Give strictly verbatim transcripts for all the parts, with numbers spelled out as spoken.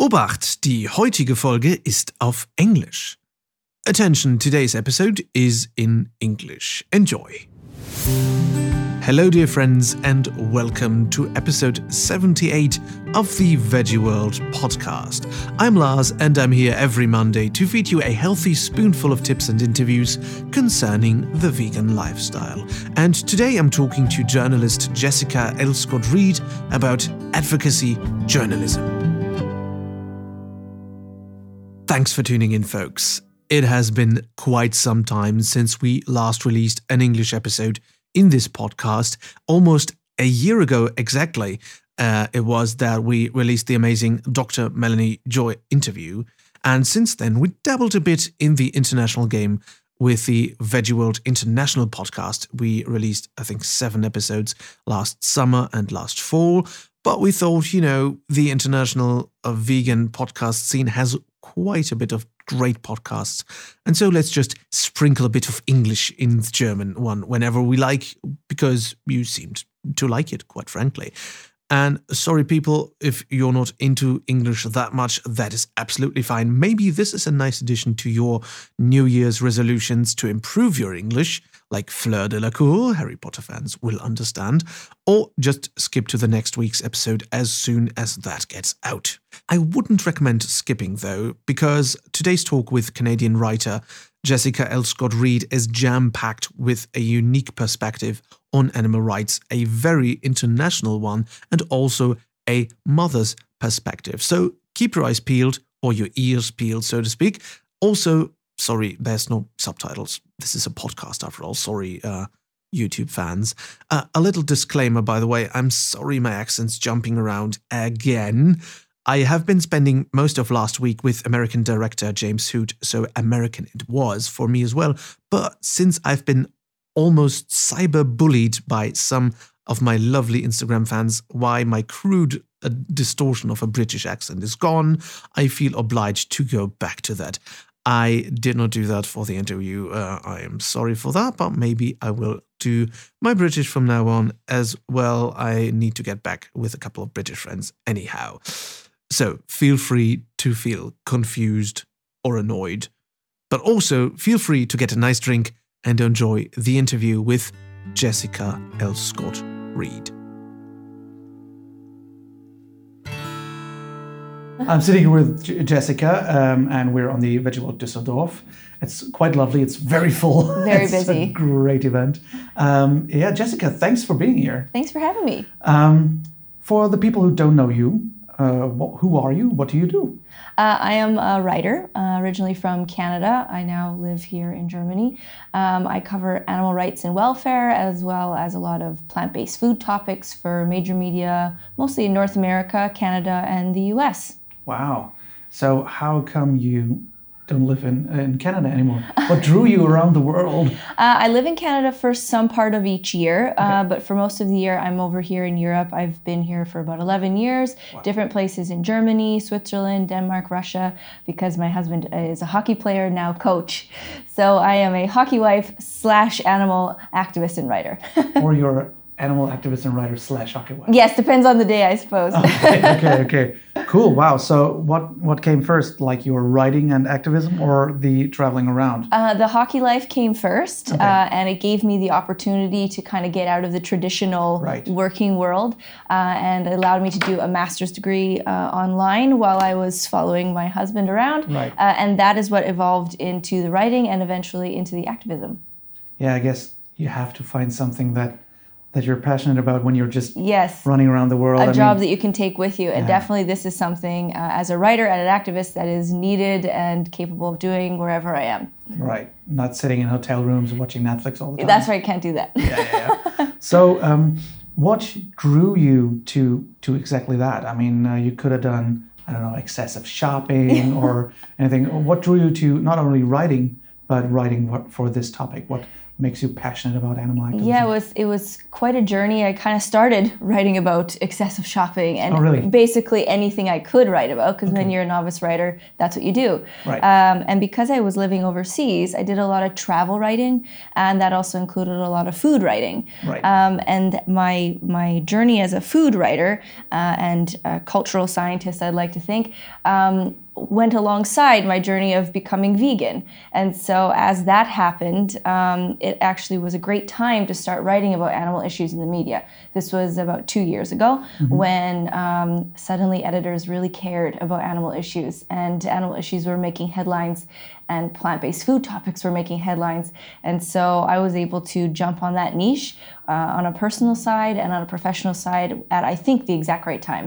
Obacht, die heutige Folge ist auf Englisch. Attention, today's episode is in English. Enjoy. Hello dear friends and welcome to episode seventy-eight of the Veggie World podcast. I'm Lars and I'm here every Monday to feed you a healthy spoonful of tips and interviews concerning the vegan lifestyle. And today I'm talking to journalist Jessica Elscott-Reid about advocacy journalism. Thanks for tuning in, folks. It has been quite some time since we last released an English episode in this podcast. Almost a year ago exactly, uh, it was that we released the amazing Doctor Melanie Joy interview. And since then, we dabbled a bit in the international game with the Veggie World International podcast. We released, I think, seven episodes last summer and last fall. But we thought, you know, the international uh, vegan podcast scene has quite a bit of great podcasts. And so let's just sprinkle a bit of English in the German one whenever we like, because you seemed to like it, quite frankly. And sorry, people, if you're not into English that much, that is absolutely fine. Maybe this is a nice addition to your New Year's resolutions to improve your English, like Fleur de la Cour, Harry Potter fans will understand, or just skip to the next week's episode as soon as that gets out. I wouldn't recommend skipping, though, because today's talk with Canadian writer Jessica Elscott-Reid is jam-packed with a unique perspective on animal rights, a very international one, and also a mother's perspective. So keep your eyes peeled, or your ears peeled, so to speak. Also, sorry, there's no subtitles. This is a podcast after all. Sorry, uh, YouTube fans. Uh, a little disclaimer, by the way. I'm sorry my accent's jumping around again. I have been spending most of last week with American director James Hoot, so American it was for me as well. But since I've been almost cyber-bullied by some of my lovely Instagram fans why my crude uh, distortion of a British accent is gone, I feel obliged to go back to that. I did not do that for the interview. Uh, I am sorry for that, but maybe I will do my British from now on as well. I need to get back with a couple of British friends anyhow. So feel free to feel confused or annoyed, but also feel free to get a nice drink and enjoy the interview with Jessica Elscott-Reid. I'm sitting here with J- Jessica, um, and we're on the Veggie World Düsseldorf. It's quite lovely. It's very full. Very it's busy. A great event. Um, yeah, Jessica, thanks for being here. Thanks for having me. Um, for the people who don't know you, uh, wh- who are you? What do you do? Uh, I am a writer, uh, originally from Canada. I now live here in Germany. Um, I cover animal rights and welfare, as well as a lot of plant-based food topics for major media, mostly in North America, Canada, and the U S. Wow. So how come you don't live in, in Canada anymore? What drew you around the world? Uh, I live in Canada for some part of each year, Okay. uh, but for most of the year, I'm over here in Europe. I've been here for about eleven years, Wow. different places in Germany, Switzerland, Denmark, Russia, because my husband is a hockey player, now coach. So I am a hockey wife slash animal activist and writer. Or you're animal activist and writer slash hockey wife? Yes, depends on the day, I suppose. okay, okay, okay. Cool, wow. So what, what came first, like your writing and activism or the traveling around? Uh, the hockey life came first, Okay. uh, and it gave me the opportunity to kind of get out of the traditional Right. working world, uh, and it allowed me to do a master's degree uh, online while I was following my husband around, Right. uh, and that is what evolved into the writing and eventually into the activism. Yeah, I guess you have to find something that that you're passionate about when you're just Yes. running around the world. A I job mean, that you can take with you, and Yeah. definitely this is something uh, as a writer and an activist that is needed and capable of doing wherever I am. right, not sitting in hotel rooms watching Netflix all the time. That's right, can't do that. Yeah, yeah, yeah. So, um, what drew you to to exactly that? I mean, uh, you could have done, I don't know, excessive shopping or anything. What drew you to not only writing, but writing for this topic? What makes you passionate about animal activism? Yeah, it was it was quite a journey. I kind of started writing about excessive shopping and oh, really? basically anything I could write about, because okay. when you're a novice writer, that's what you do. Right. Um, and because I was living overseas, I did a lot of travel writing, and that also included a lot of food writing. Right. Um, and my my journey as a food writer uh, and a cultural scientist, I'd like to think, um, went alongside my journey of becoming vegan. And so as that happened, um, it actually was a great time to start writing about animal issues in the media. This was about two years ago mm-hmm. when um, suddenly editors really cared about animal issues, and animal issues were making headlines and plant-based food topics were making headlines. And so I was able to jump on that niche uh, on a personal side and on a professional side at, I think, the exact right time.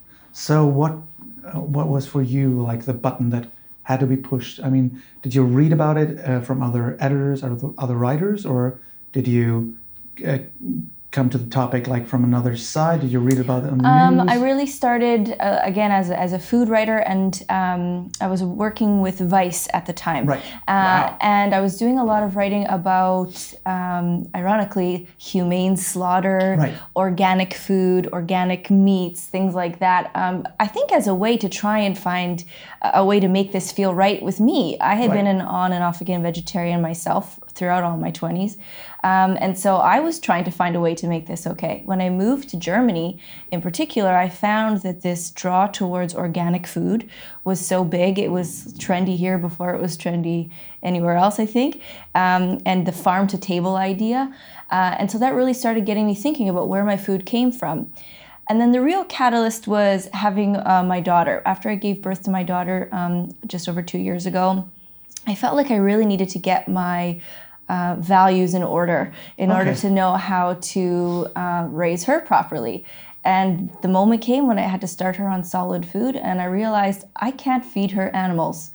So what Uh, what was for you like the button that had to be pushed? I mean, did you read about it uh, from other editors or other writers, or did you uh, come to the topic like from another side? Did you read about it on the um, news? I really started uh, again as a, as a food writer, and um, I was working with Vice at the time. Right. Uh, wow. And I was doing a lot of writing about, um, ironically, humane slaughter, right. organic food, organic meats, things like that. Um, I think as a way to try and find a way to make this feel right with me. I had right. been an on and off again vegetarian myself throughout all my twenties. Um, and so I was trying to find a way to make this okay. When I moved to Germany, in particular, I found that this draw towards organic food was so big. It was trendy here before it was trendy anywhere else, I think. Um, and the farm to table idea. Uh, and so that really started getting me thinking about where my food came from. And then the real catalyst was having uh, my daughter. After I gave birth to my daughter um, just over two years ago, I felt like I really needed to get my uh, values in order in okay. order to know how to uh, raise her properly. And the moment came when I had to start her on solid food, and I realized I can't feed her animals.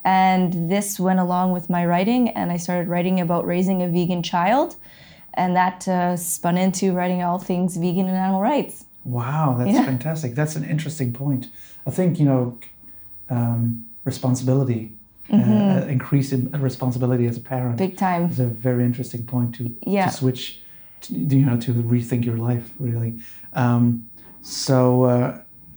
And this went along with my writing, and I started writing about raising a vegan child, and that uh, spun into writing all things vegan and animal rights. Wow, that's yeah. fantastic. That's an interesting point. I think, you know, um, responsibility, mm-hmm. uh, increased responsibility as a parent. Big time. Is a very interesting point to, yeah. to switch, to, you know, to rethink your life, really. Um, so uh,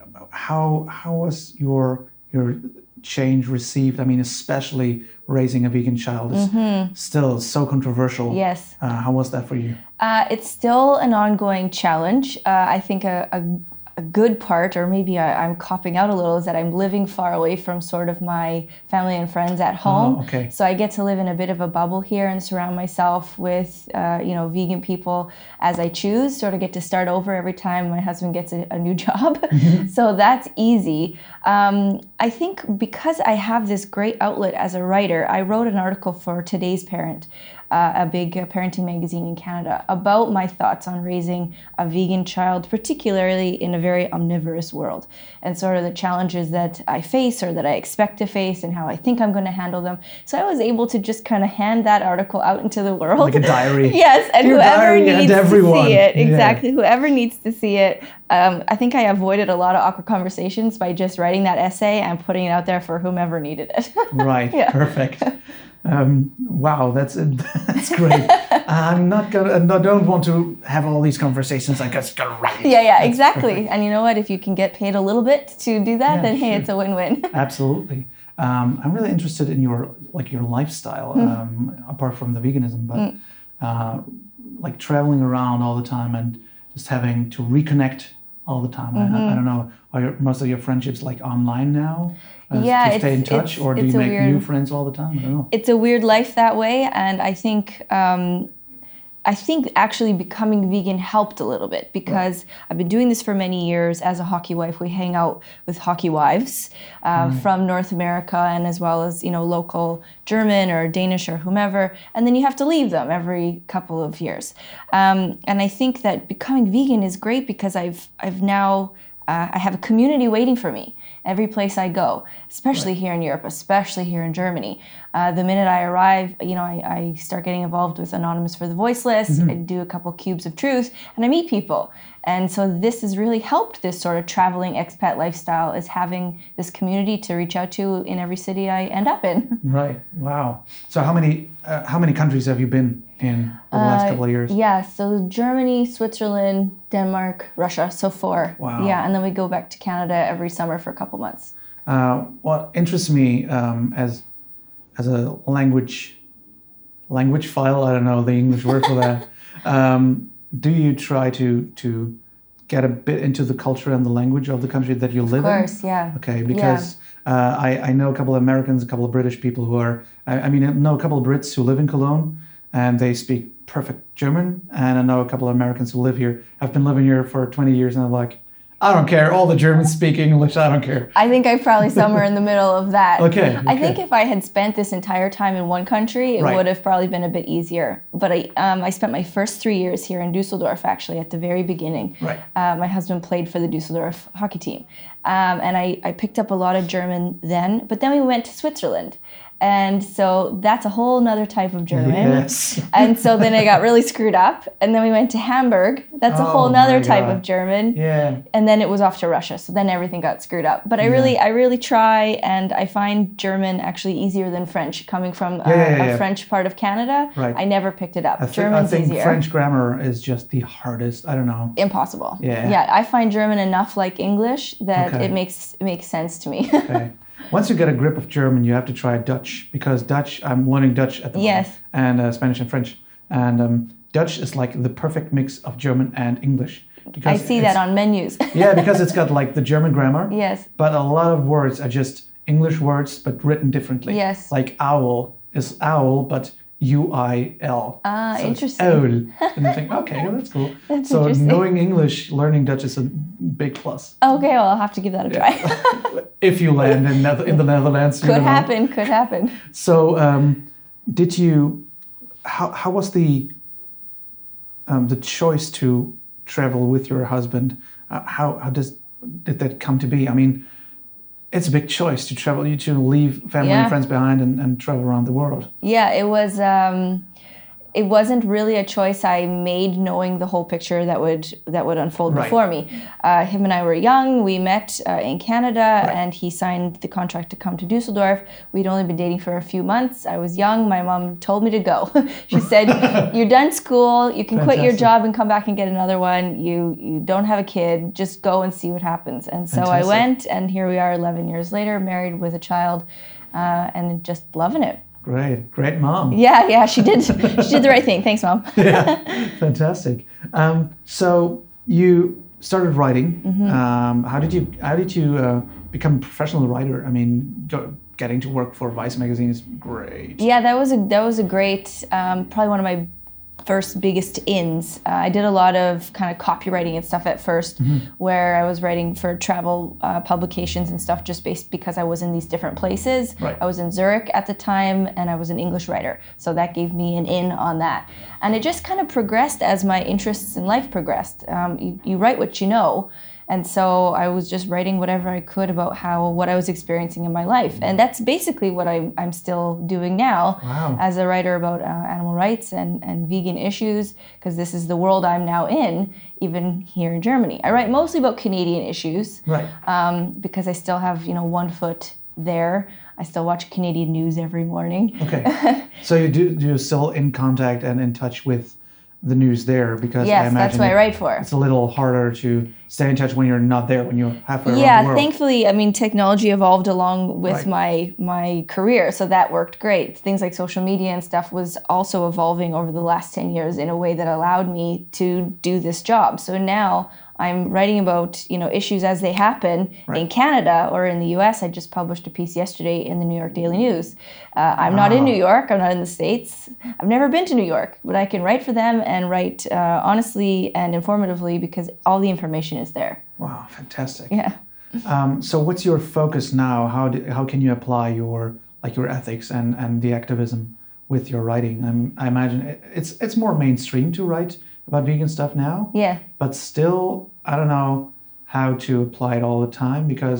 how how was your your change received? I mean, especially raising a vegan child is mm-hmm. still so controversial. Yes. Uh, how was that for you? Uh, it's still an ongoing challenge. Uh, I think a, a, a good part, or maybe I, I'm copping out a little, is that I'm living far away from sort of my family and friends at home. Oh, okay. So I get to live in a bit of a bubble here and surround myself with, uh, you know, vegan people as I choose. Sort of get to start over every time my husband gets a, a new job. Mm-hmm. So that's easy. Um, I think because I have this great outlet as a writer, I wrote an article for Today's Parent, Uh, a big uh, parenting magazine in Canada, about my thoughts on raising a vegan child, particularly in a very omnivorous world, and sort of the challenges that I face or that I expect to face and how I think I'm going to handle them. So I was able to just kind of hand that article out into the world. Like a diary. Yes, and Dear whoever diary needs and to see it, yeah. exactly, whoever needs to see it. Um, I think I avoided a lot of awkward conversations by just writing that essay and putting it out there for whomever needed it. Right, perfect. Um, wow, that's that's great. I'm not gonna. I don't want to have all these conversations. I just gotta write it. Yeah, yeah, that's exactly. Perfect. And you know what? If you can get paid a little bit to do that, Yeah, then hey, sure. it's a win-win. Absolutely. Um, I'm really interested in your like your lifestyle, mm. um, apart from the veganism, but mm. uh, like traveling around all the time and just having to reconnect all the time. Mm-hmm. I, I don't know. Are your, most of your friendships like online now? Uh, yeah, to stay in touch, it's, or do it's you make weird, new friends all the time? I don't know. It's a weird life that way, and I think um, I think actually becoming vegan helped a little bit, because right. I've been doing this for many years as a hockey wife. We hang out with hockey wives uh, mm. from North America, and as well as, you know, local German or Danish or whomever, and then you have to leave them every couple of years. Um, and I think that becoming vegan is great because I've I've now uh, I have a community waiting for me. every place I go, especially right. here in Europe, especially here in Germany. Uh, the minute I arrive, you know, I, I start getting involved with Anonymous for the Voiceless. Mm-hmm. I do a couple cubes of truth, and I meet people. And so this has really helped this sort of traveling expat lifestyle, is having this community to reach out to in every city I end up in. Right. Wow. So how many uh, how many countries have you been in the last uh, couple of years? Yeah. So Germany, Switzerland, Denmark, Russia. So four. Wow. Yeah. And then we go back to Canada every summer for a couple months. Uh, what interests me um, as as a language language file, I don't know the English word for that. Um, do you try to to get a bit into the culture and the language of the country that you live in? Of course, in? yeah. Okay, because yeah. Uh, I, I know a couple of Americans, a couple of British people who are, I, I mean, I know a couple of Brits who live in Cologne and they speak perfect German. And I know a couple of Americans who live here. I've been living here for twenty years and I'm like, I don't care. All the Germans speak English. I don't care. I think I'm probably somewhere in the middle of that. Okay, okay. I think if I had spent this entire time in one country, it right. would have probably been a bit easier. But I um, I spent my first three years here in Dusseldorf, actually, at the very beginning. Right. Uh, my husband played for the Dusseldorf hockey team. Um, and I, I picked up a lot of German then. But then we went to Switzerland. And so that's a whole nother type of German. Yes. And so then I got really screwed up. And then we went to Hamburg. That's a oh whole nother type God. of German. Yeah. And then it was off to Russia. So then everything got screwed up. But I yeah. really I really try, and I find German actually easier than French. Coming from yeah, uh, yeah, yeah, a yeah. French part of Canada, right. I never picked it up. I th- German's I think easier. French grammar is just the hardest. I don't know. Impossible. Yeah. Yeah. I find German enough like English that okay. it makes it makes sense to me. Okay. Once you get a grip of German, you have to try Dutch, because Dutch, I'm learning Dutch at the moment. Yes. And uh, Spanish and French. And um, Dutch is like the perfect mix of German and English. I see that on menus. Yeah, because it's got like the German grammar. Yes. But a lot of words are just English words, but written differently. Yes. Like owl is owl, but U I L. Ah, so interesting. Owl. And you think, okay, well, that's cool. That's so interesting. knowing English, learning Dutch is a big plus. Okay, well, I'll have to give that a try. Yeah. If you land in, Nether- in the Netherlands. Could happen, could happen. So um, did you, how, how was the um, the choice to travel with your husband? Uh, how, how does did that come to be? I mean, it's a big choice to travel, you to leave family yeah. and friends behind and, and travel around the world. Yeah, it was. Um, it wasn't really a choice I made, knowing the whole picture that would that would unfold right. before me. Uh, him and I were young. We met uh, in Canada, right. and he signed the contract to come to Dusseldorf. We'd only been dating for a few months. I was young. My mom told me to go. She said, "You're done school. You can Fantastic. quit your job and come back and get another one. You you don't have a kid. Just go and see what happens." And so Fantastic. I went, and here we are, eleven years later, married with a child, uh, and just loving it. Great, great mom. Yeah, yeah, she did. She did the right thing. Thanks, Mom. Yeah, fantastic. Um, so you started writing. Mm-hmm. Um, how did you How did you uh, become a professional writer? I mean, go, getting to work for Vice magazine is great. Yeah, that was a that was a great, um, probably one of my first biggest ins. Uh, I did a lot of kind of copywriting and stuff at first, mm-hmm. where I was writing for travel uh, publications and stuff, just based because I was in these different places. Right. I was in Zurich at the time, and I was an English writer, so that gave me an in on that. And it just kind of progressed as my interests in life progressed. Um, you, you write what you know. And so I was just writing whatever I could about how what I was experiencing in my life. And that's basically what I'm, I'm still doing now wow. as a writer about uh, animal rights and, and vegan issues, because this is the world I'm now in, even here in Germany. I write mostly about Canadian issues, right. um, because I still have, you know, one foot there. I still watch Canadian news every morning. Okay. So you do you're still in contact and in touch with the news there, because yes, I imagine that's what it, I write for. It's a little harder to stay in touch when you're not there, when you're halfway yeah, around the world. Thankfully, I mean, technology evolved along with right. my my career, so that worked great. Things like social media and stuff was also evolving over the last ten years in a way that allowed me to do this job. So now I'm writing about, you know, issues as they happen right. in Canada or in the U S. I just published a piece yesterday in the New York Daily News. Uh, I'm wow. not in New York. I'm not in the States. I've never been to New York, but I can write for them and write uh, honestly and informatively because all the information is there. Wow, fantastic. Yeah. Um, so what's your focus now? How do, how can you apply your like your ethics and, and the activism with your writing? I'm, I imagine it, it's it's more mainstream to write about vegan stuff now. Yeah. But still, I don't know how to apply it all the time, because I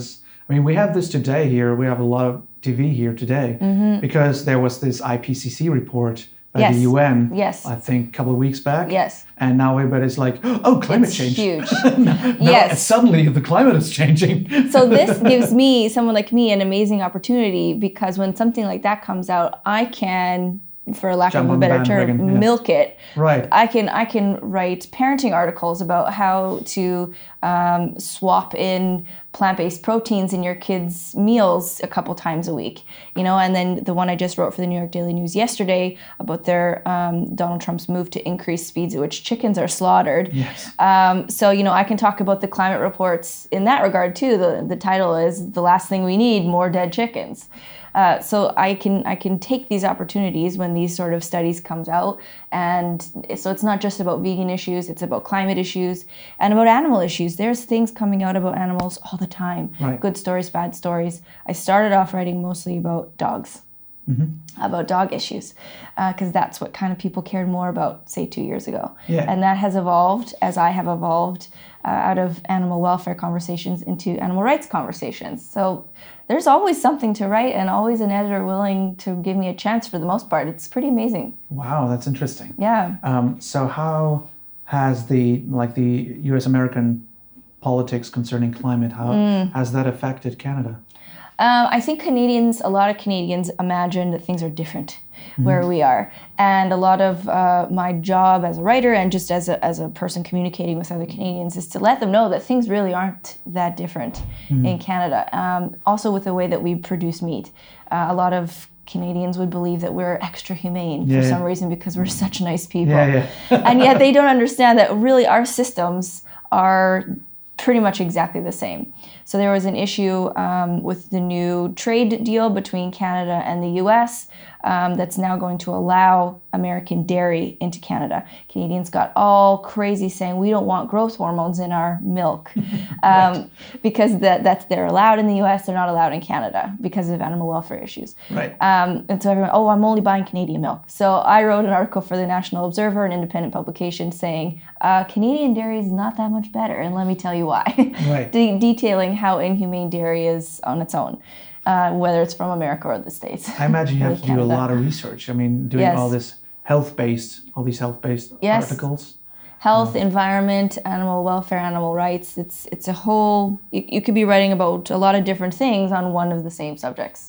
I mean, we have this today here. We have a lot of T V here today mm-hmm. because there was this I P C C report by yes. the U N, yes. I think a couple of weeks back. Yes. And now everybody's like, oh, climate it's change. Huge. now, yes. Suddenly the climate is changing. So this gives me, someone like me, an amazing opportunity because when something like that comes out, I can, for lack Jump of a better term, yeah. milk it. Right. I can I can write parenting articles about how to um, swap in plant-based proteins in your kids' meals a couple times a week, you know. And then the one I just wrote for the New York Daily News yesterday about their um, Donald Trump's move to increase speeds at which chickens are slaughtered. Yes. Um, so you know, I can talk about the climate reports in that regard too. The the title is "The Last Thing We Need: More Dead Chickens." Uh, so I can I can take these opportunities when these sort of studies comes out, and so it's not just about vegan issues, it's about climate issues and about animal issues. There's things coming out about animals all the time, right. Good stories, bad stories. I started off writing mostly about dogs, mm-hmm. about dog issues, because uh, that's what kind of people cared more about, say, two years ago. Yeah. And that has evolved as I have evolved uh, out of animal welfare conversations into animal rights conversations. So there's always something to write and always an editor willing to give me a chance for the most part. It's pretty amazing. Wow, that's interesting. Yeah. Um, so how has the, like the U S American politics concerning climate, how mm. has that affected Canada? Um, I think Canadians, a lot of Canadians imagine that things are different mm-hmm. where we are. And a lot of uh, my job as a writer and just as a, as a person communicating with other Canadians is to let them know that things really aren't that different mm-hmm. in Canada. Um, also with the way that we produce meat. Uh, a lot of Canadians would believe that we're extra humane yeah, for some yeah. reason because we're such nice people. Yeah, yeah. And yet they don't understand that really our systems are pretty much exactly the same. So there was an issue um, with the new trade deal between Canada and the U S um, that's now going to allow American dairy into Canada. Canadians got all crazy saying we don't want growth hormones in our milk um, right. because that that's they're allowed in the U S, they're not allowed in Canada because of animal welfare issues. Right. Um, and so everyone, oh, I'm only buying Canadian milk. So I wrote an article for the National Observer, an independent publication, saying uh, Canadian dairy is not that much better, and let me tell you why. Right. De- detailing how inhumane dairy is on its own. Uh, whether it's from America or the States. I imagine you have to Canada. do a lot of research. I mean, doing yes. all this health-based, all these health-based yes. articles. Health, um, environment, animal welfare, animal rights. It's it's a whole, you, you could be writing about a lot of different things on one of the same subjects.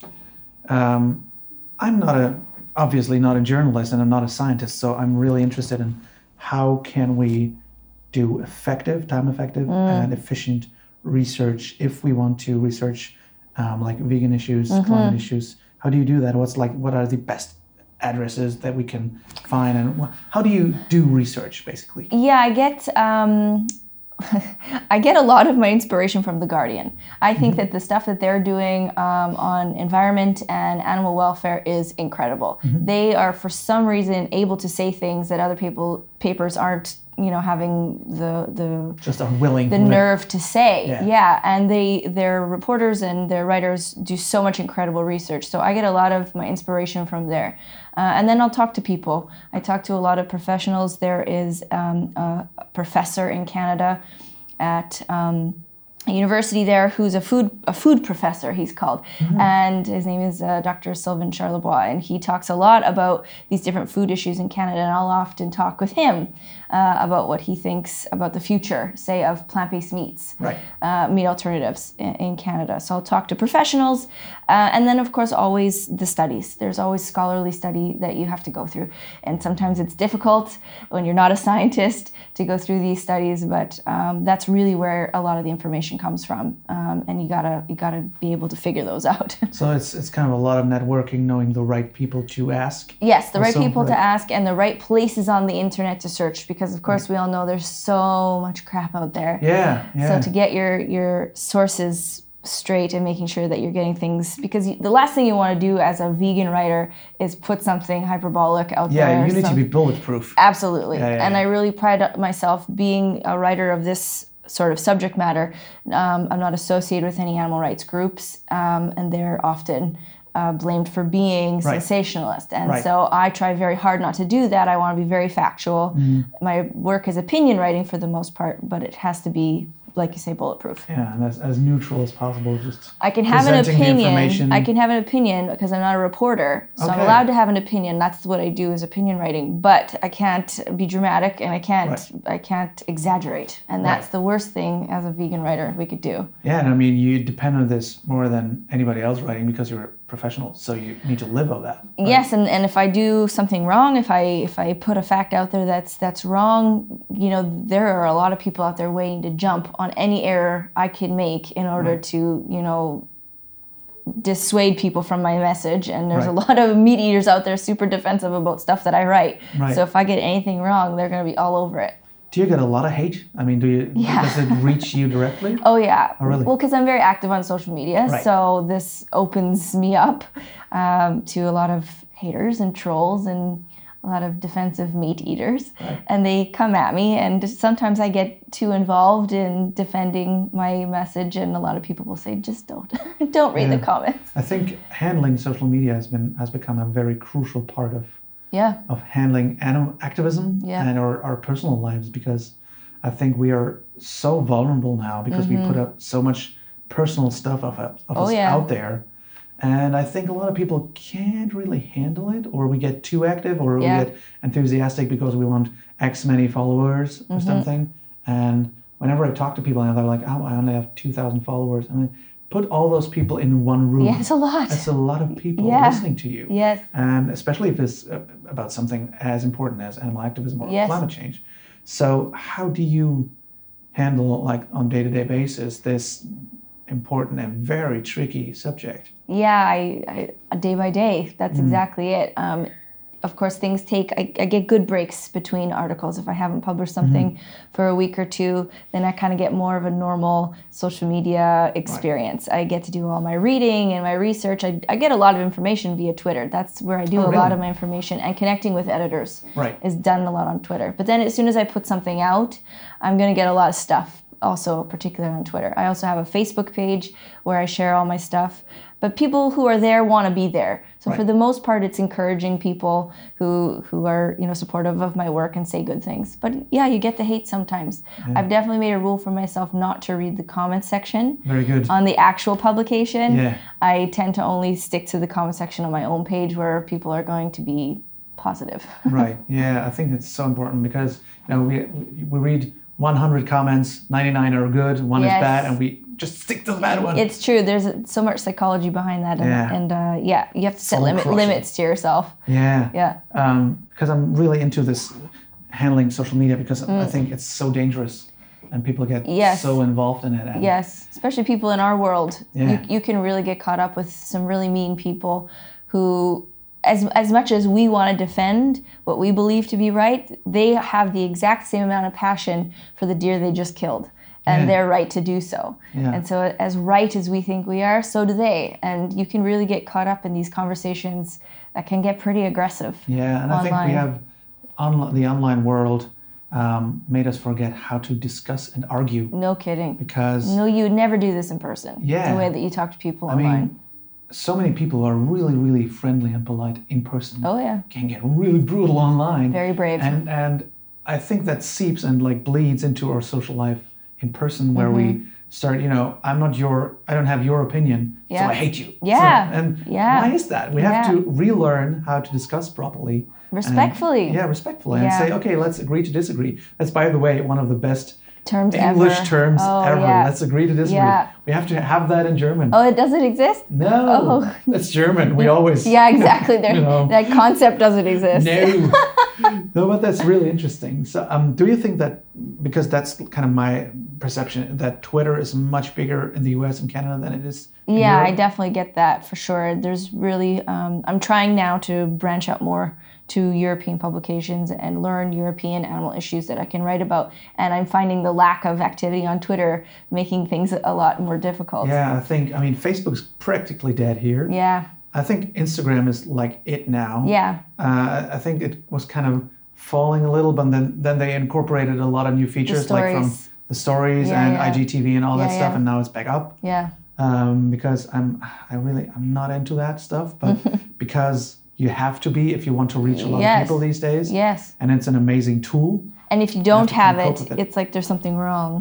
Um, I'm not a, obviously not a journalist and I'm not a scientist, so I'm really interested in how can we do effective, time-effective mm. and efficient research if we want to research Um, like vegan issues, mm-hmm. climate issues. How do you do that? What's like? What are the best addresses that we can find, and wh- how do you do research, basically? Yeah, I get um, I get a lot of my inspiration from The Guardian. I think mm-hmm. that the stuff that they're doing um, on environment and animal welfare is incredible. Mm-hmm. They are, for some reason, able to say things that other people papers aren't. You know, having the the just unwilling the nerve to say, yeah. yeah. And they their reporters and their writers do so much incredible research. So I get a lot of my inspiration from there. Uh, and then I'll talk to people. I talk to a lot of professionals. There is um, a professor in Canada at um, a university there who's a food a food professor, he's called. Mm-hmm. And his name is uh, Doctor Sylvain Charlebois. And he talks a lot about these different food issues in Canada. And I'll often talk with him uh, about what he thinks about the future, say, of plant-based meats, right. uh, meat alternatives in, in Canada. So I'll talk to professionals. Uh, and then, of course, always the studies. There's always scholarly study that you have to go through. And sometimes it's difficult when you're not a scientist to go through these studies. But um, that's really where a lot of the information comes from, um, and you gotta you gotta be able to figure those out. So it's it's kind of a lot of networking, knowing the right people to ask. Yes, the right also, people right. to ask, and the right places on the internet to search, because of course right. we all know there's so much crap out there. Yeah, yeah. So to get your your sources straight and making sure that you're getting things, because you, the last thing you want to do as a vegan writer is put something hyperbolic out yeah, there. Yeah, you need some, to be bulletproof. Absolutely, yeah, yeah, and yeah. I really pride myself being a writer of this sort of subject matter. Um, I'm not associated with any animal rights groups, um, and they're often uh, blamed for being right. sensationalist. And right. so I try very hard not to do that. I want to be very factual. Mm-hmm. My work is opinion writing for the most part, but it has to be like you say, bulletproof. Yeah, and as, as neutral as possible. Just I can have an presenting the opinion. information. I can have an opinion because I'm not a reporter, so I'm Okay. allowed to have an opinion. That's what I do is opinion writing. But I can't be dramatic, and I can't Right. I can't exaggerate. And that's Right. the worst thing as a vegan writer we could do. Yeah, and I mean, you depend on this more than anybody else writing because you're a professional, so you need to live on that. Right? Yes, and, and if I do something wrong, if I if I put a fact out there that's that's wrong, you know, there are a lot of people out there waiting to jump on any error I can make in order Right. to, you know, dissuade people from my message. And there's Right. a lot of meat eaters out there super defensive about stuff that I write. Right. So if I get anything wrong, they're going to be all over it. Do you get a lot of hate? I mean, do you? Yeah. Does it reach you directly? Oh yeah. Oh, really? Well, because I'm very active on social media, Right. so this opens me up um, to a lot of haters and trolls and a lot of defensive meat eaters, Right. and they come at me. And sometimes I get too involved in defending my message, and a lot of people will say, "Just don't, don't read Yeah. the comments." I think handling social media has been has become a very crucial part of Yeah. of handling animal activism Yeah. and our, our personal lives, because I think we are so vulnerable now because we put up so much personal stuff of, of Oh, us yeah. out there. And I think a lot of people can't really handle it, or we get too active, or Yeah. we get enthusiastic because we want X many followers or something. And whenever I talk to people and they're like, oh, I only have two thousand followers. I mean, put all those people in one room. Yeah, it's a lot. That's a lot of people Yeah. listening to you. Yes. And especially if it's uh, about something as important as animal activism or Yes. climate change. So how do you handle, like on day-to-day basis, this important and very tricky subject? Yeah, I, I day by day. That's exactly it. Um, of course, things take. I, I get good breaks between articles. If I haven't published something for a week or two, then I kind of get more of a normal social media experience. I get to do all my reading and my research. I, I get a lot of information via Twitter. That's where I do Oh, a lot really? of my information, and connecting with editors Right. is done a lot on Twitter. But then as soon as I put something out, I'm going to get a lot of stuff. Also, particularly on Twitter. I also have a Facebook page where I share all my stuff. But people who are there want to be there. So Right. for the most part, it's encouraging people who who are, you know, supportive of my work and say good things. But yeah, you get the hate sometimes. I've definitely made a rule for myself not to read the comment section Very good. on the actual publication. Yeah. I tend to only stick to the comment section on my own page where people are going to be positive. Right. Yeah, I think it's so important because, you know, we we read one hundred comments, ninety-nine are good, one Yes. is bad, and we just stick to the bad one. It's true. There's so much psychology behind that, and, Yeah. and uh, yeah, you have to set Soul limit, crushing. limits to yourself. yeah. Yeah. Um, because I'm really into this handling social media because Mm. I think it's so dangerous and people get Yes. so involved in it. And Yes, especially people in our world. Yeah. You, you can really get caught up with some really mean people who, as, as much as we want to defend what we believe to be right, they have the exact same amount of passion for the deer they just killed. And Yeah. they're right to do so. Yeah. And so as right as we think we are, so do they. And you can really get caught up in these conversations that can get pretty aggressive. Yeah, and I think online. we have on, the online world um, made us forget how to discuss and argue No kidding. because No, you would never do this in person. Yeah. The way that you talk to people I online. mean, so many people are really, really friendly and polite in person. Oh yeah. Can get really brutal online. Very brave. And and I think that seeps and like bleeds into our social life in person, where Mm-hmm. we start. You know, I'm not your. I don't have your opinion, so Yeah. I hate you. Yeah. So, and Yeah. why is that? We have Yeah. to relearn how to discuss properly. and- Respectfully. yeah, respectfully, and Yeah. say, okay, let's agree to disagree. That's, by the way, one of the best Terms English ever. terms Oh, ever. yeah. Let's agree to disagree. Yeah. We have to have that in German. Oh, it doesn't exist? No, Oh. that's German. We always. Yeah, exactly. There, You know. that concept doesn't exist. No. No, but that's really interesting. So, um, do you think that, because that's kind of my perception, that Twitter is much bigger in the U S and Canada than it is in Yeah, I Europe? definitely get that for sure. There's really, um, I'm trying now to branch out more to European publications and learn European animal issues that I can write about. And I'm finding the lack of activity on Twitter making things a lot more difficult. Yeah, I think, I mean, Facebook's practically dead here. Yeah. I think Instagram is like it now. Yeah. Uh, I think it was kind of falling a little, but then, then they incorporated a lot of new features, like from stories. the stories Yeah, and yeah. I G T V and all that Yeah, stuff, yeah. and now it's back up. Yeah. Um, because I'm, I really, I'm not into that stuff, but because you have to be if you want to reach a lot Yes. of people these days. Yes. And it's an amazing tool. And if you don't to have cope it, with it. it's like there's something wrong.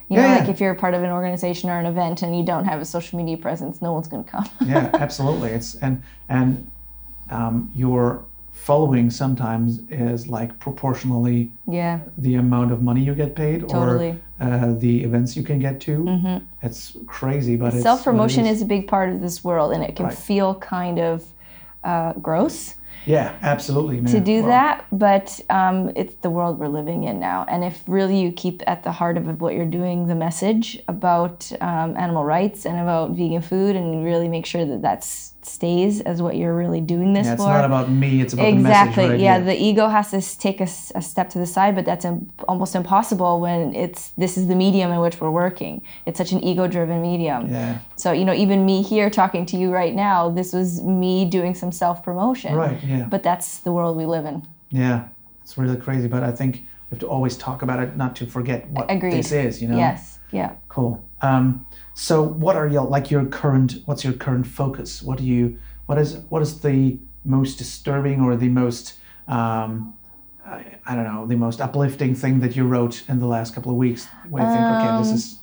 You know, Yeah, like yeah. if you're part of an organization or an event and you don't have a social media presence, no one's going to come. Yeah, absolutely. It's and and um, your following sometimes is like proportionally Yeah, the amount of money you get paid Totally. or uh, the events you can get to. Mm-hmm. It's crazy, but it's self promotion what it is a big part of this world, and it can Right. feel kind of uh, gross Yeah, absolutely, man. to do Well, that, but um, it's the world we're living in now. And if really you keep at the heart of what you're doing, the message about um, animal rights and about vegan food, and you really make sure that that stays as what you're really doing this Yeah, it's for. not about me. It's about Exactly. the message, right? Yeah, the ego has to s- take a, s- a step to the side, but that's im- almost impossible when it's this is the medium in which we're working. It's such an ego-driven medium. Yeah. So you know, even me here talking to you right now, this was me doing some self-promotion. Right. Yeah. But that's the world we live in. Yeah. It's really crazy, but I think we have to always talk about it, not to forget what Agreed. this is. You know. Yes. Yeah. Cool. Um, so, what are your like your current? What's your current focus? What do you? What is what is the most disturbing or the most um, I, I don't know the most uplifting thing that you wrote in the last couple of weeks? Where you think, okay, this is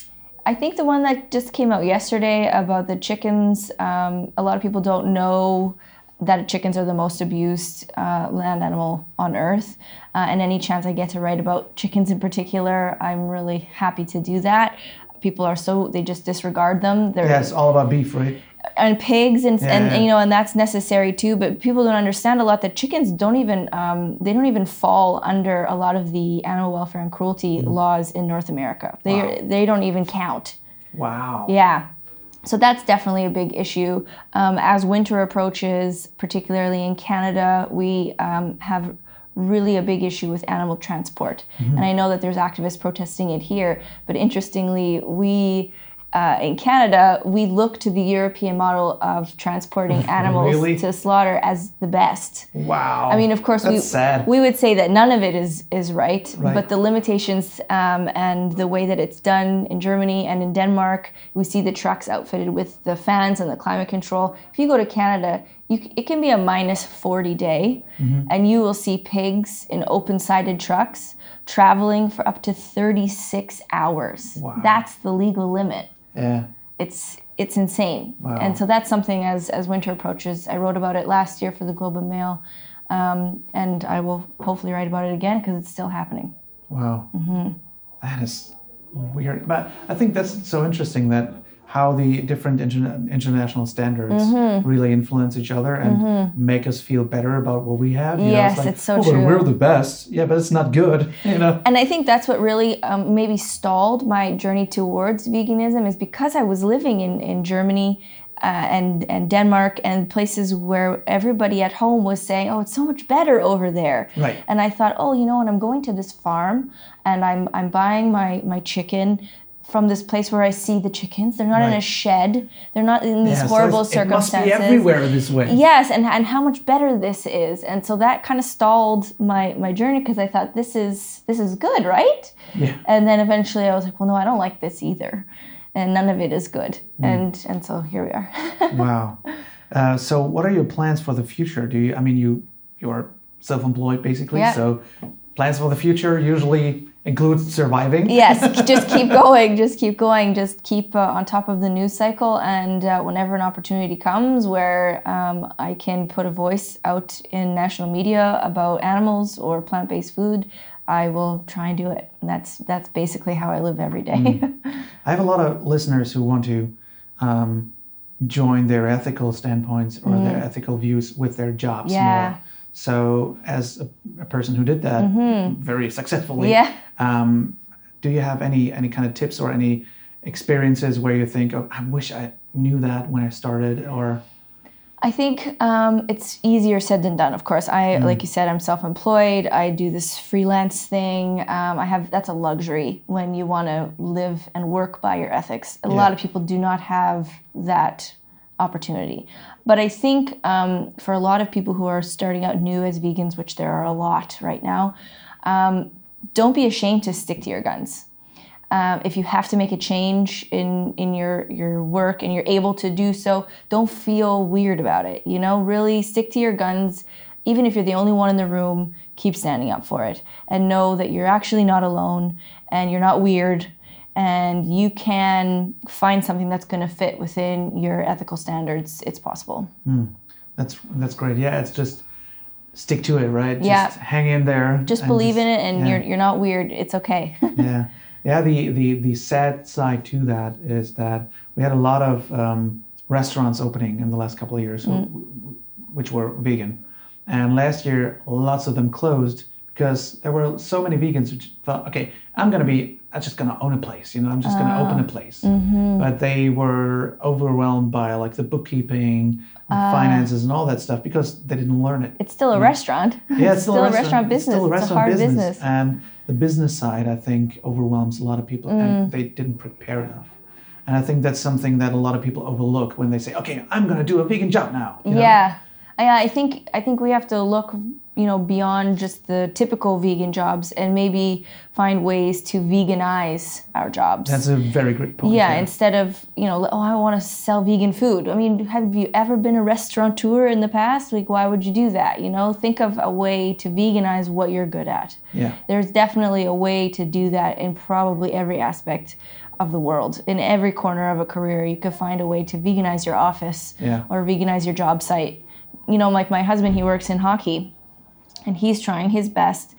I think the one that just came out yesterday about the chickens, um, a lot of people don't know that chickens are the most abused uh, land animal on Earth. Uh, and any chance I get to write about chickens in particular, I'm really happy to do that. People are so, they just disregard them. They're, yeah, it's all about beef, right? and pigs and, Yeah, and yeah. and you know and that's necessary too, but people don't understand a lot that chickens don't even um, they don't even fall under a lot of the animal welfare and cruelty laws in North America. They Wow. they don't even count. Wow. Yeah. So that's definitely a big issue. Um, as winter approaches, particularly in Canada, we um, have really a big issue with animal transport. And I know that there's activists protesting it here, but interestingly, we uh, in Canada, we look to the European model of transporting animals Really? to slaughter as the best. Wow. I mean, of course, That's we sad. we would say that none of it is is right, Right. but the limitations um, and the way that it's done in Germany and in Denmark, we see the trucks outfitted with the fans and the climate control. If you go to Canada, you, c- it can be a minus forty day, Mm-hmm. and you will see pigs in open-sided trucks traveling for up to thirty-six hours. Wow. That's the legal limit. Yeah. It's it's insane. Wow. And so that's something as as winter approaches. I wrote about it last year for the Globe and Mail, um, and I will hopefully write about it again because it's still happening. Wow. Mm-hmm. That is weird. But I think that's so interesting that how the different interna- international standards Mm-hmm. really influence each other and make us feel better about what we have. You know, Yes, like, it's so "Oh, but true." we're the best. Yeah, but it's not good. You know. And I think that's what really um, maybe stalled my journey towards veganism is because I was living in, in Germany uh, and, and Denmark and places where everybody at home was saying, oh, it's so much better over there. Right. And I thought, oh, you know what, I'm going to this farm and I'm, I'm buying my, my chicken from this place where I see the chickens. They're not in a Right. shed. They're not in these Yeah, so horrible it's- it must circumstances. be everywhere this way. Yes, and, and how much better this is. And so that kind of stalled my, my journey because I thought this is this is good, right? Yeah. And then eventually I was like, well, no, I don't like this either. And none of it is good. Hmm. And and so here we are. Wow. Uh, so, what are your plans for the future? Do you? I mean, you you're self-employed basically. Yeah. So, plans for the future usually include surviving. Yes, just keep going, just keep going, just keep uh, on top of the news cycle. And uh, whenever an opportunity comes where um, I can put a voice out in national media about animals or plant-based food, I will try and do it. And that's that's basically how I live every day. I have a lot of listeners who want to um, join their ethical standpoints or their ethical views with their jobs Yeah. more. So, as a, a person who did that very successfully, Yeah. um, do you have any any kind of tips or any experiences where you think, oh, I wish I knew that when I started, or I think um, it's easier said than done. Of course, I like you said, I'm self-employed. I do this freelance thing. Um, I have that's a luxury when you want to live and work by your ethics. A Yeah. lot of people do not have that opportunity. But I think um, for a lot of people who are starting out new as vegans, which there are a lot right now, um, don't be ashamed to stick to your guns. Um, if you have to make a change in, in your, your work and you're able to do so, don't feel weird about it. You know, really stick to your guns. Even if you're the only one in the room, keep standing up for it. And know that you're actually not alone and you're not weird and you can find something that's going to fit within your ethical standards, it's possible. Mm. That's that's great. Yeah, it's just stick to it, right? Yeah. Just hang in there. Just believe just, in it, and yeah. you're you're not weird. It's okay. yeah, yeah. The, the the sad side to that is that we had a lot of um, restaurants opening in the last couple of years, mm. w- w- which were vegan, and last year lots of them closed because there were so many vegans who thought, okay, I'm gonna be, I'm just gonna own a place, you know, I'm just uh, gonna open a place, mm-hmm. but they were overwhelmed by like the bookkeeping. Uh, finances and all that stuff because they didn't learn it. It's still a yeah. restaurant. Yeah, it's still, still a restaurant, restaurant business. It's, still a restaurant it's a hard business. business. And the business side, I think, overwhelms a lot of people mm. and they didn't prepare enough. And I think that's something that a lot of people overlook when they say, okay, I'm going to do a vegan job now. You know? Yeah. I, I think I think we have to look, you know, beyond just the typical vegan jobs and maybe find ways to veganize our jobs. That's a very great point. Yeah, yeah. instead of, you know, oh, I want to sell vegan food. I mean, have you ever been a restaurateur in the past? Like, why would you do that? You know, think of a way to veganize what you're good at. Yeah. There's definitely a way to do that in probably every aspect of the world. In every corner of a career, you could find a way to veganize your office yeah. or veganize your job site. You know, like my husband, he works in hockey, and he's trying his best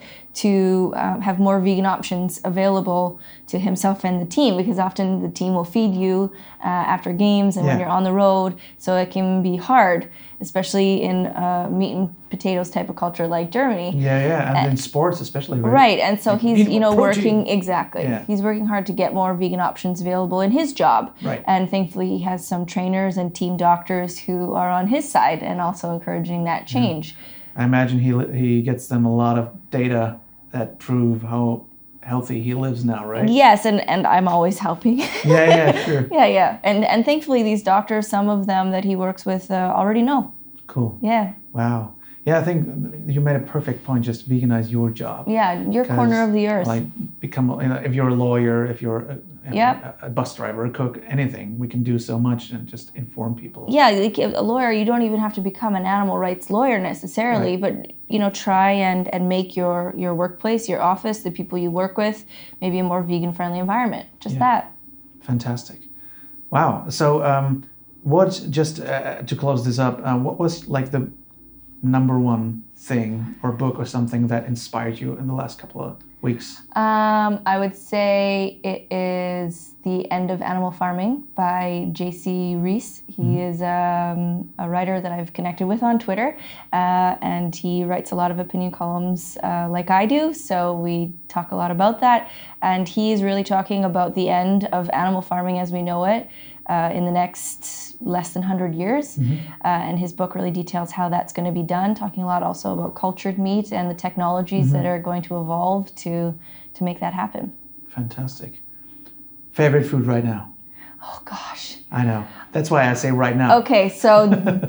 to uh, have more vegan options available to himself and the team, because often the team will feed you uh, after games and yeah. when you're on the road, so it can be hard, especially in uh, meat and potatoes type of culture like Germany. Yeah, yeah, and, and in sports especially, right? Right, and so like, he's, you know, protein. working, exactly. Yeah. He's working hard to get more vegan options available in his job. Right. And thankfully he has some trainers and team doctors who are on his side and also encouraging that change. Yeah. I imagine he he gets them a lot of data that prove how healthy he lives now, right? Yes, and, and I'm always helping. yeah, yeah, sure. Yeah, yeah. And and thankfully these doctors, some of them that he works with uh, already know. Cool. Yeah. Wow. Yeah, I think you made a perfect point. Just veganize your job. Yeah, your corner of the earth. Like become, you know, if you're a lawyer, if you're a, yep. a, a bus driver, a cook, anything, we can do so much and just inform people. Yeah, like a lawyer, you don't even have to become an animal rights lawyer necessarily, right. but you know, try and and make your your workplace, your office, the people you work with, maybe a more vegan friendly environment. Just yeah. that. Fantastic. Wow. So, um, what just uh, to close this up? Uh, what was like the number one thing or book or something that inspired you in the last couple of weeks? Um, I would say it is The End of Animal Farming by J C Reese. He mm-hmm. is um, a writer that I've connected with on Twitter, uh, and he writes a lot of opinion columns uh, like I do, so we talk a lot about that. And he is really talking about the end of animal farming as we know it uh, in the next less than one hundred years. Mm-hmm. Uh, and his book really details how that's going to be done, talking a lot also about cultured meat and the technologies mm-hmm. that are going to evolve to to make that happen. Fantastic. Favorite food right now? Oh, gosh. I know. That's why I say right now. Okay, so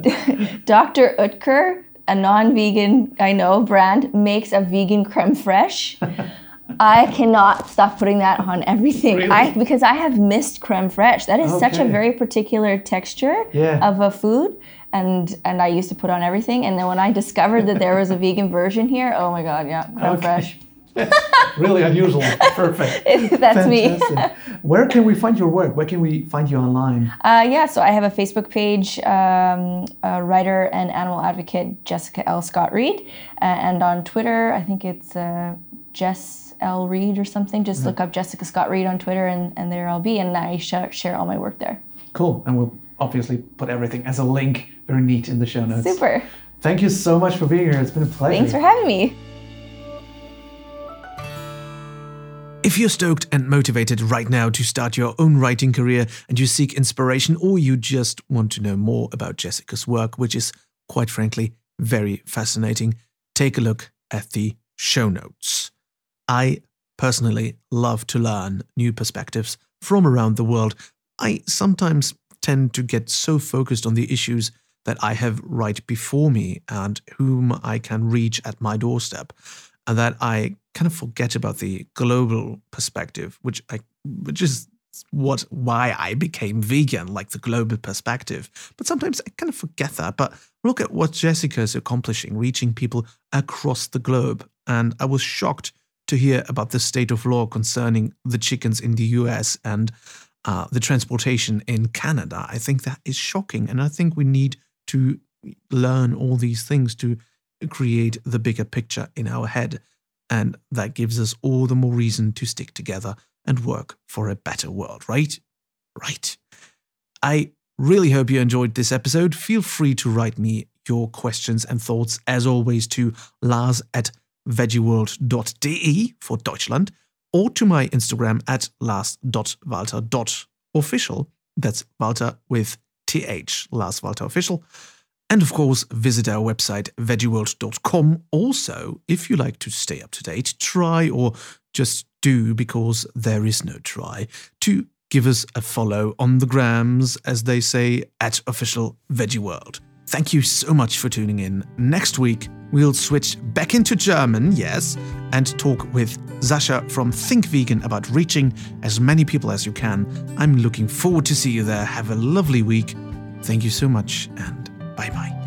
Doctor Oetker, a non-vegan, I know, brand, makes a vegan creme fraiche. I cannot stop putting that on everything. Really? I because I have missed creme fraiche. That is okay. such a very particular texture yeah. of a food, and and I used to put on everything. And then when I discovered that there was a vegan version here, oh my god, yeah, creme okay. fraiche. Really unusual. Perfect. That's Fantastic. me. Where can we find your work? Where can we find you online? Uh, yeah, so I have a Facebook page, um, a writer and animal advocate, Jessica L. Scott Reed. Uh, and on Twitter, I think it's uh, Jess L. Reed or something. Just mm-hmm. look up Jessica Scott Reed on Twitter and, and there I'll be. And I sh- share all my work there. Cool. And we'll obviously put everything as a link, very neat, in the show notes. Super. Thank you so much for being here. It's been a pleasure. Thanks for having me. If you're stoked and motivated right now to start your own writing career and you seek inspiration, or you just want to know more about Jessica's work, which is, quite frankly, very fascinating, take a look at the show notes. I personally love to learn new perspectives from around the world. I sometimes tend to get so focused on the issues that I have right before me and whom I can reach at my doorstep, and that I kind of forget about the global perspective, which I, which is what why I became vegan, like the global perspective. But sometimes I kind of forget that. But look at what Jessica is accomplishing, reaching people across the globe. And I was shocked to hear about the state of law concerning the chickens in the U S and uh, the transportation in Canada. I think that is shocking, and I think we need to learn all these things to create the bigger picture in our head, and that gives us all the more reason to stick together and work for a better world, right? Right. I really hope you enjoyed this episode. Feel free to write me your questions and thoughts, as always, to Lars at veggieworld dot de for Deutschland, or to my Instagram at lars dot walter dot official. That's Walter with T H, Lars Walter Official. And of course, visit our website, veggieworld dot com. Also, if you like to stay up to date, try, or just do, because there is no try, to give us a follow on the grams, as they say, at Official Veggie World. Thank you so much for tuning in. Next week, we'll switch back into German, yes, and talk with Sasha from Think Vegan about reaching as many people as you can. I'm looking forward to see you there. Have a lovely week. Thank you so much, and bye-bye.